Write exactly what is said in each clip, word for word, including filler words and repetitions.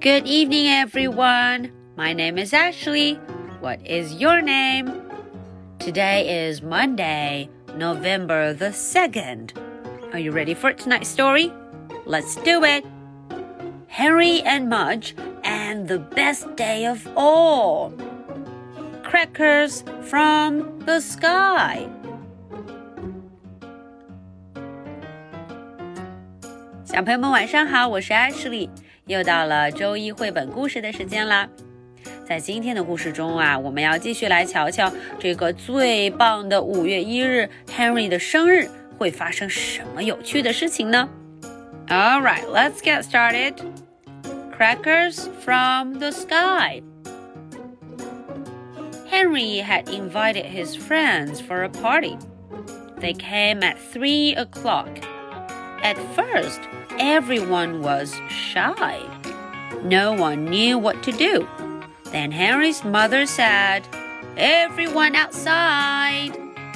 Good evening, everyone. My name is Ashley. What is your name? Today is Monday, November the second. Are you ready for tonight's story? Let's do it. Henry and Mudge and the best day of all. Crackers from the sky. 小朋友们晚上好，我是 Ashley， 又到了周一绘本故事的时间啦。在今天的故事中啊，我们要继续来瞧瞧这个最棒的五月一日 Henry 的生日会发生什么有趣的事情呢？ Alright, let's get started. Crackers from the sky. Henry had invited his friends for a party. They came at three o'clock.At first, everyone was shy. No one knew what to do. Then Henry's mother said, "Everyone outside."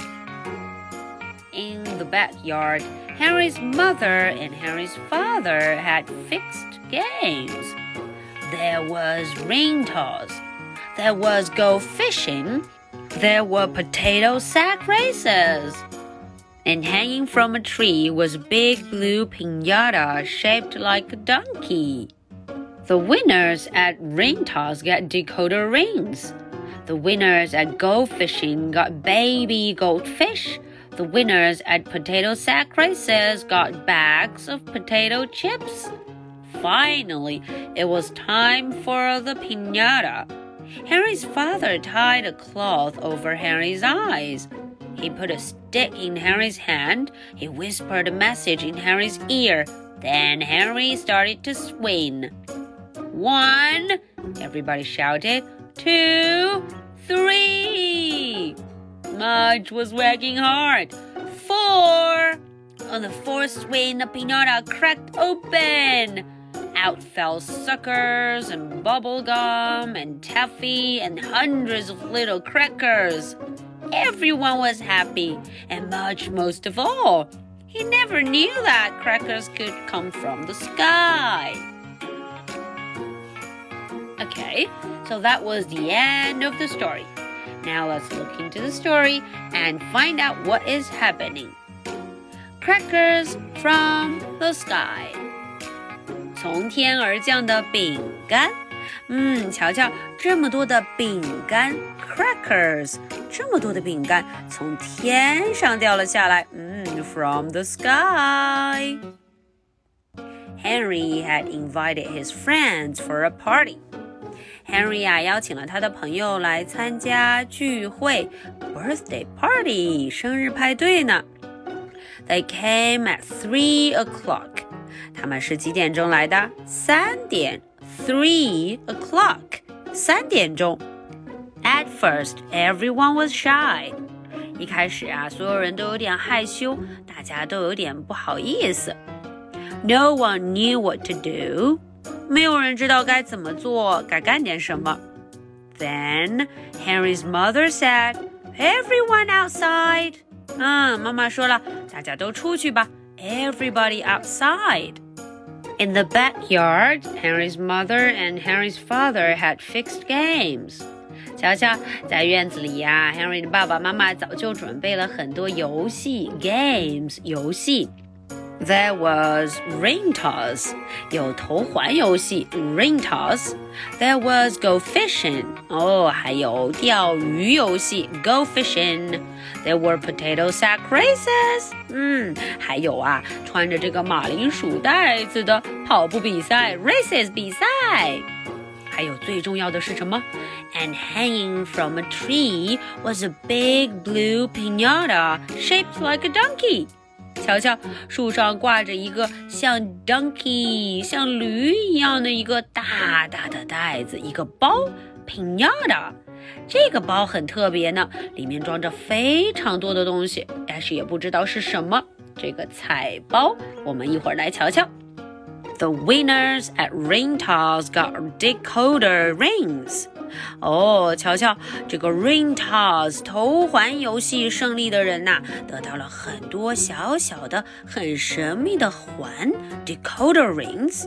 In the backyard, Henry's mother and Henry's father had fixed games. There was ring toss. There was go fishing. There were potato sack races.And hanging from a tree was a big blue piñata shaped like a donkey. The winners at ring toss got decoder rings. The winners at gold fishing got baby goldfish. The winners at potato sack races got bags of potato chips. Finally, it was time for the piñata. Henry's father tied a cloth over Henry's eyes.He put a stick in Henry's hand. He whispered a message in Henry's ear. Then Henry started to swing. One, everybody shouted. Two, three. Mudge was working hard. Four. On the fourth swing, the piñata cracked open. Out fell suckers and bubble gum and taffy and hundreds of little crackers.Everyone was happy, and Mudge most of all. He never knew that crackers could come from the sky. Okay, so that was the end of the story. Now let's look into the story and find out what is happening. Crackers from the sky. 从天而降的饼干。嗯，瞧瞧，这么多的饼干 crackers， 这么多的饼干从天上掉了下来。嗯 from the sky. Henry had invited his friends for a party. Henry 啊，邀请了他的朋友来参加聚会 birthday party 生日派对呢。They came at three o'clock. 他们是几点钟来的？三点。Three o'clock, 三点钟。At first, everyone was shy. 一开始啊，所有人都有点害羞，大家都有点不好意思。No one knew what to do. 没有人知道该怎么做，该干点什么。Then, Henry's mother said, "Everyone outside." 嗯，妈妈说了，大家都出去吧。Everybody outside.In the backyard, Henry's mother and Henry's father had fixed games. 瞧瞧，在院子里呀 Henry 的爸爸妈妈早就准备了很多游戏 games 游戏。There was ring toss, 有头环游戏 ring toss. There was go fishing, 哦，还有钓鱼游戏 go fishing.There were potato sack races. 嗯，还有啊，穿着这个马铃薯袋子的跑步比赛 races 比赛。还有最重要的是什么？ And hanging from a tree was a big blue piñata shaped like a donkey. 瞧瞧，树上挂着一个像 donkey 像驴一样的一个大大的袋子，一个包 piñata。这个包很特别呢，里面装着非常多的东西，但是也不知道是什么。这个彩包，我们一会儿来瞧瞧。The winners at ring toss got decoder rings. 哦，瞧瞧，这个 ring toss 头环游戏胜利的人呐，得到了很多小小的、很神秘的环 decoder rings。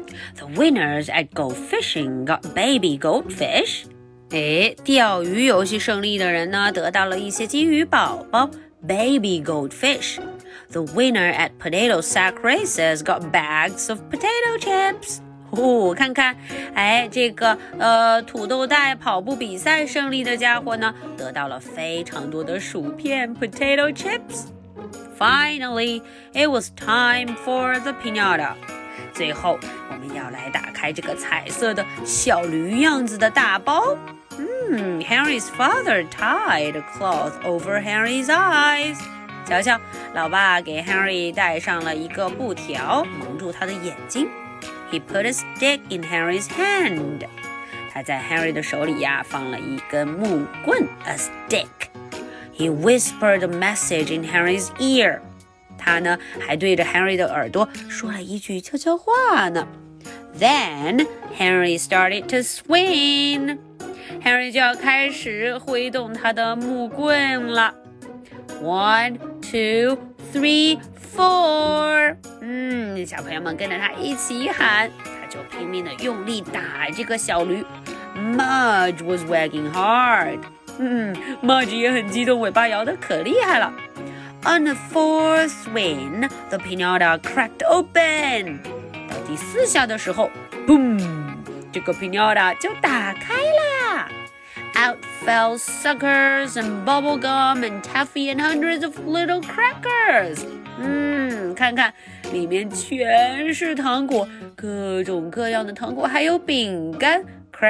The winners at go fishing got baby goldfish. 诶，钓鱼游戏胜利的人呢，得到了一些金鱼宝宝 baby goldfish. The winner at potato sack races got bags of potato chips. 哦，看看，哎，这个呃土豆袋跑步比赛胜利的家伙呢，得到了非常多的薯片 potato chips.Finally, it was time for the piñata. 最后，我们要来打开这个彩色的小驴样子的大包。嗯 Henry's father tied a cloth over Henry's eyes. 瞧瞧，老爸给 Henry 戴上了一个布条，蒙住他的眼睛。He put a stick in Henry's hand. 他在 Henry 的手里呀，放了一根木棍 ，a stick.He whispered a message in Henry's ear. 他呢，还对着 Henry 的耳朵说了一句悄悄话呢。Then Henry started to swing. Henry 就要开始挥动他的木棍了。One, two, three, four. 嗯，小朋友们跟着他一起喊，他就拼命的用力打这个小驴。Mudge was wagging hard.嗯 Mudge 也很激动，尾巴摇得可厉害了。On the fourth swing, the piñata cracked open. 到第四下的时候 ，boom， 这个 piñata 就打开啦。Out fell suckers and bubble gum and taffy and hundreds of little crackers. 嗯，看看里面全是糖果，各种各样的糖果，还有饼干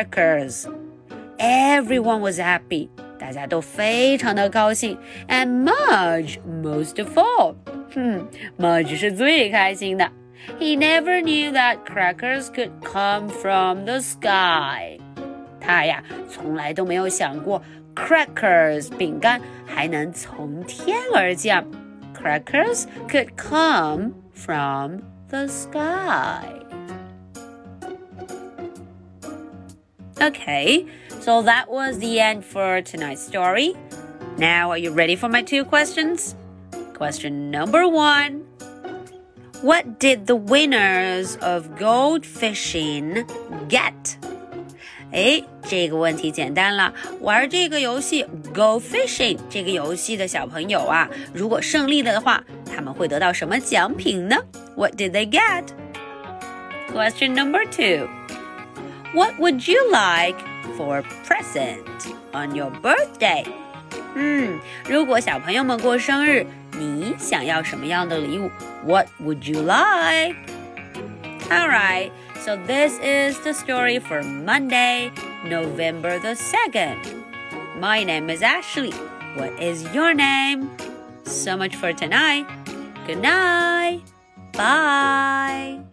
crackers.Everyone was happy. 大家都非常的高兴 And Mudge most of all. 哼 Mudge 是最开心的 He never knew that crackers could come from the sky. 他呀，从来都没有想过 crackers 饼干还能从天而降 Crackers could come from the sky.Okay, so that was the end for tonight's story. Now, are you ready for my two questions? Question number one. What did the winners of gold fishing get? 诶，这个问题简单了。玩这个游戏 Go Fishing 这个游戏的小朋友啊，如果胜利了的话，他们会得到什么奖品呢？ What did they get? Question number two.What would you like for a present on your birthday? 嗯，如果小朋友们过生日，你想要什么样的礼物 What would you like? Alright, so this is the story for Monday, November the second. My name is Ashley. What is your name? So much for tonight. Good night. Bye.